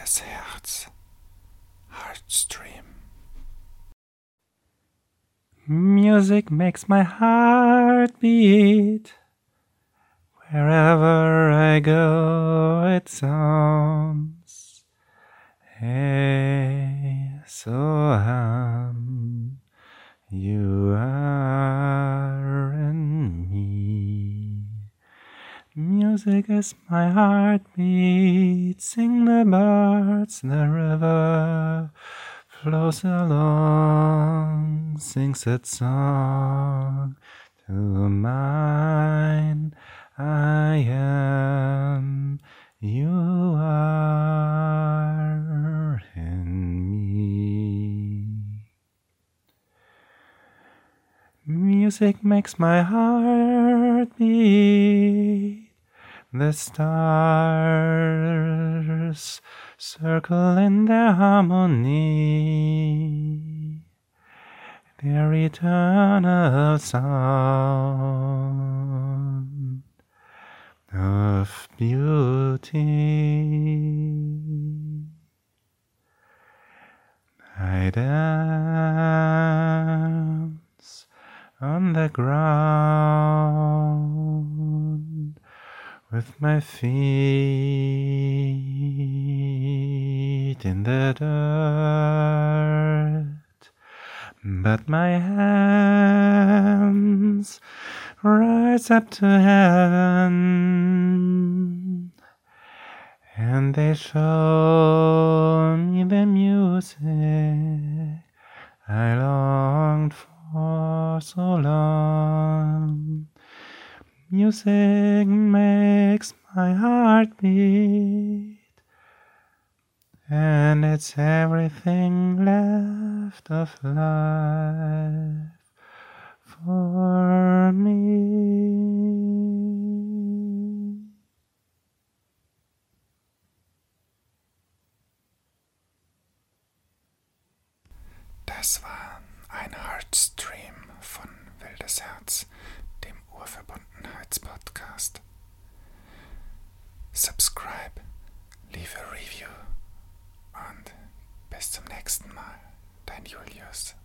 wildes Herz. Heartstream. Music makes my heart beat. Wherever I go, it sounds. Hey, so you are in me. Music is my heartbeat. Sing the birds, the river flows along, sings its song to mine. I am, you are in me. Music makes my heart beat. The stars circle in their harmony, their eternal sound of beauty. I dance on the ground with my feet in the dirt, but my hands rise up to heaven, and they show me the music I longed for so long. Music makes my heart beat, and it's everything left of life for me. Das war ein Heartstream von Wildes Herz, dem Urverbundenheitspodcast. Subscribe, leave a review und bis zum nächsten Mal. Dein Julius.